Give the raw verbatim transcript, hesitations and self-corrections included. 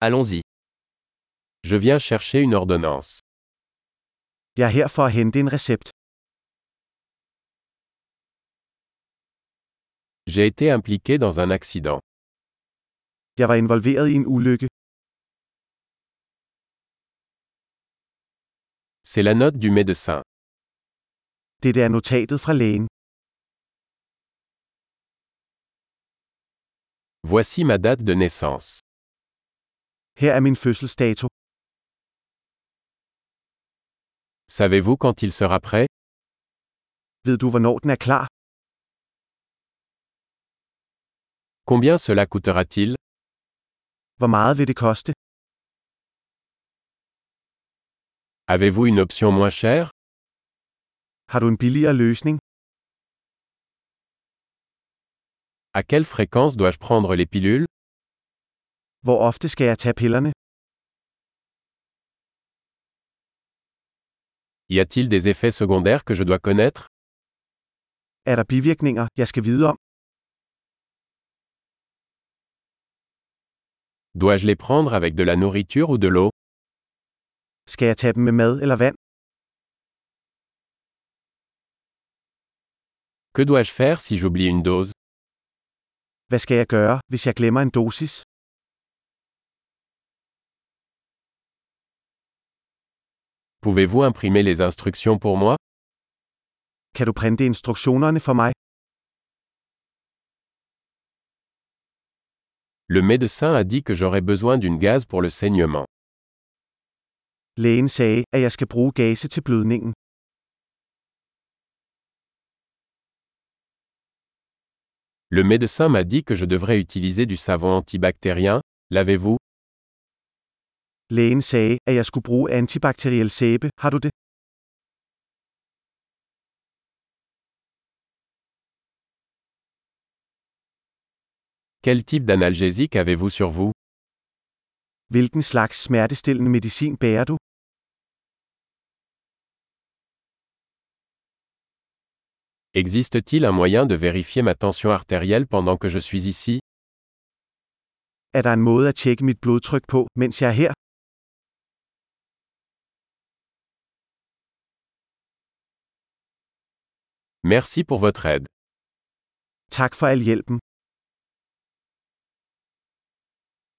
Allons-y. Je viens chercher une ordonnance. Jeg er her for at hente en recept. J'ai été impliqué dans un accident. Jeg var involveret i en ulykke. C'est la note du médecin. Dette er notatet fra lægen. Voici ma date de naissance. Her er min fødselsdato. Savez-vous quand il sera prêt? Ved du hvornår den er klar? Combien cela coûtera-t-il? Hvor meget vil det koste? Avez-vous une option moins chère? Har du en billigere løsning? À quelle fréquence dois-je prendre les pilules? Hvor ofte skal jeg tage pillerne? Y a-t-il des effets secondaires que je dois connaître? Er der bivirkninger, jeg skal vide om? Dois-je les prendre avec de la nourriture ou de l'eau? Skal jeg tage dem med mad eller vand? Que dois-je faire si j'oublie une dose? Hvad skal jeg gøre, hvis jeg glemmer en dosis? Pouvez-vous imprimer les instructions pour moi? Kan du printe instruktionerne for mig? Le médecin a dit que j'aurais besoin d'une gaz pour le saignement. Lægen sagde, at jeg skal bruge gase til blødningen. Le médecin m'a dit que je devrais utiliser du savon antibactérien. L'avez-vous? Lægen sagde, at jeg skulle bruge antibakteriel sæbe. Har du det? Quel type d'analgésique avez-vous sur vous? Hvilken slags smertestillende medicin bærer du? Existe-t-il un moyen de vérifier ma tension artérielle pendant que je suis ici? Er der en måde at tjekke mit blodtryk på, mens jeg er her? Merci pour votre aide. Tak for al hjælpen.